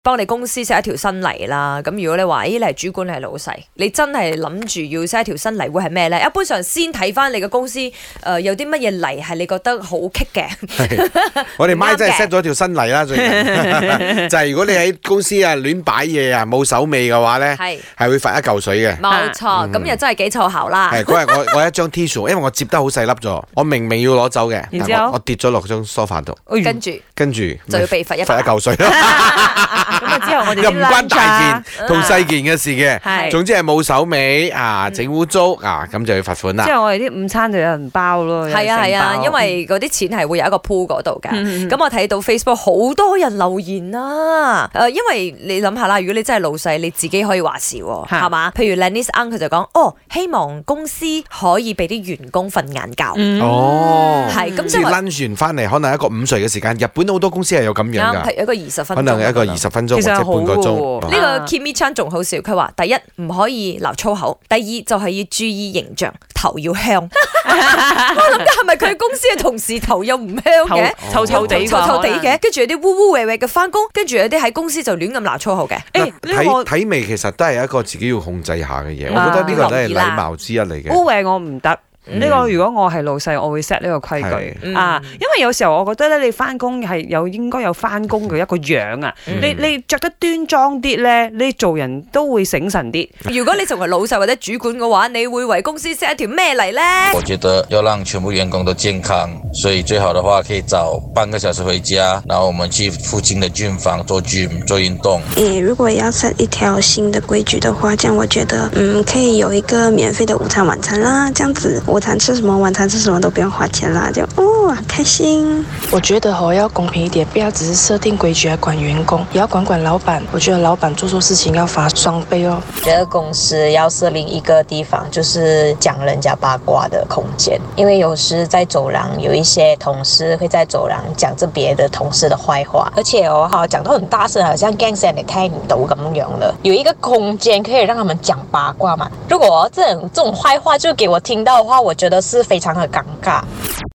幫你公司 set 一條新例啦。咁如果你話，你係主管，你係老細，你真係諗住要 set 一條新例會係咩咧？一般上先睇翻你嘅公司有啲乜嘢例係你覺得好棘嘅。 我哋媽真係 set 咗條新例啦，最近就係如果你喺公司啊亂擺嘢啊冇手尾嘅話咧，係會罰1嚿水嘅。 冇錯，咁又真係幾湊效啦。 係嗰日我一張 T-shirt， 因為我接得好細粒咗，我明明要攞走嘅， 然之後我跌咗落張梳化度，跟住就要被罰1 嚿水咯。 咁啊之後我哋又唔關大件同細件嘅事嘅，總之係冇手尾啊，整污糟啊，咁就要罰款啦。 之後我哋啲午餐就有人包咯。 係啊，因為嗰啲錢係會有一個 pool 嗰度㗎。咁我睇到 Facebook 好多人留言啊，因為你諗下啦，如果你真係老細，你自己可以話事喎，係嘛？譬如 Lennis Ang 佢就講，希望公司可以俾啲員工瞓晏覺。係咁即係 lunch 完翻嚟，可能一個午睡嘅時間。日本好多公司係有咁樣㗎， 係一個20分鐘， 可能一個20分鐘或者半個鐘。 呢個 Kimi Chan 仲好笑，佢話第一唔可以鬧粗口，第二就係要注意形象，頭要香。我諗緊係咪佢公司嘅同事頭又唔香嘅， 臭臭地嘅，跟住有啲污污穢穢嘅翻工，跟住有啲喺公司就亂咁鬧粗口嘅。 體味其實都係一個自己要控制下嘅嘢，我覺得呢個都係禮貌之一嚟嘅。 污穢我唔得。呢個如果我係老細，我會 set 呢個規矩因為有時候我覺得咧，你翻工係應該有翻工嘅一個樣啊。你着得端莊啲咧，你做人都會醒神啲。 如果你成為老細或者主管嘅話，你會為公司 set 一條咩嚟咧？ 我覺得要讓全部員工都健康，所以最好的話可以早半個小時回家，然後我們去附近的gym房做 gym 做運動。 如果要 set 一條新的規矩的話，這樣我覺得可以有一個免費的午餐晚餐啦，這樣子午餐吃什麼晚餐吃什麼都不用花錢啦，就開心。 我覺得要公平一點，不要只是設定規矩來管員工，也要管老闆。我覺得老闆做錯事情要罰雙倍哦。 覺得公司要設立一個地方，就是講人家八卦的空間，因為有時在走廊有一些同事會在走廊講着別的同事的壞話，而且講到很大聲，好像驚死人哋聽唔到咁樣的。有一個空間可以讓他們講八卦嘛。如果這種壞話就給我聽到的話，我覺得是非常的尷尬。